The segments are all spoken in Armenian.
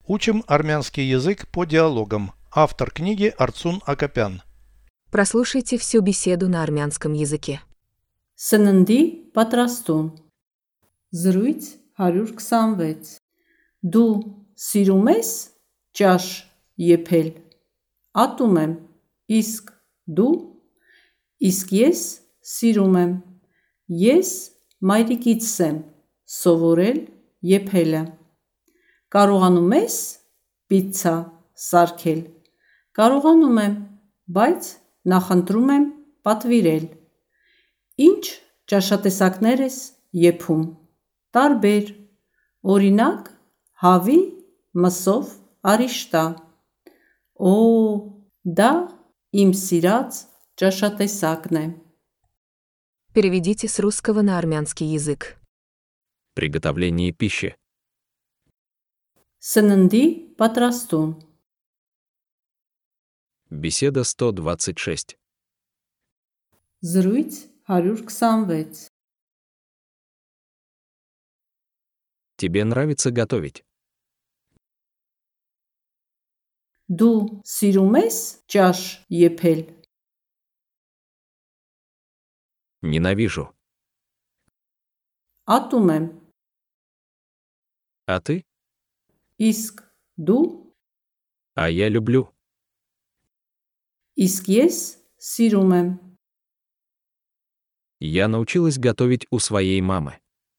Учим армянский язык по диалогам. Автор книги Арцун Акопян. Прослушайте всю беседу на армянском языке. Սննդի պատրաստում։ Զրույց 126։ Դու սիրում ես ճաշ եփել։ Ատում եմ։ Իսկ դու։ Իսկ ես սիրում եմ։ Ես մայրիկիցս եմ սովորել եփելը։ Կարողանում ես պիցցա սարքել։ Կարողանում եմ, բայց նախընտրում եմ պատվիրել։ Ինչ ճաշատեսակներ ես եփում։ Տարբեր։ Օրինակ, հավի, մսով, արիշտա։ Օ, դա իմ սիրած ճաշատեսակն է։ Переведите с русского на армянский язык. Приготовление пищи. Սննդի պատրաստում։ Беседа 126. Զրույց 126։ Тебе нравится готовить? Դու սիրում ես ճաշ եփել։ Ненавижу. Ատում եմ։ А ты? Իսկ դու։ А я люблю. Իսկ ես սիրում եմ։ Я научилась готовить у своей мамы.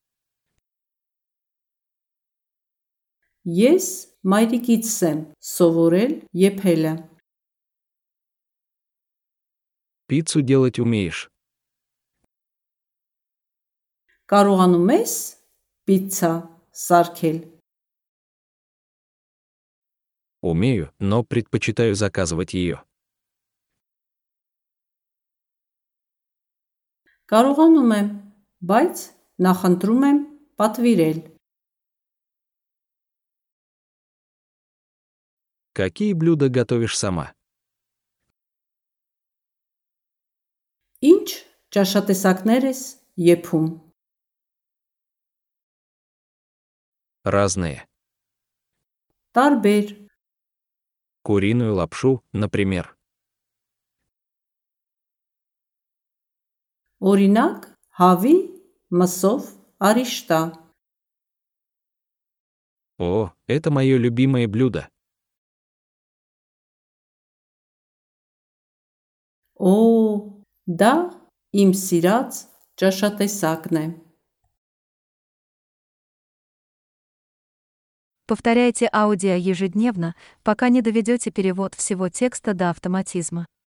Ես մայրիկիցս եմ սովորել եփելը։ Пиццу делать умеешь? Կարողանում ես պիցցա սարքել։ Умею, но предпочитаю заказывать ее. Կարողանում եմ, բայց նախընտրում եմ պատվիրել։ Какие блюда готовишь сама? Ինչ ճաշատեսակներ ես եփում։ Разные. Տարբեր։ Куриную лапшу, например. Օրինակ, հավի, մսով, արիշտա։ О, это мое любимое блюдо. Օ, դա իմ սիրած ճաշատեսակն է։ Повторяйте аудио ежедневно, пока не доведете перевод всего текста до автоматизма.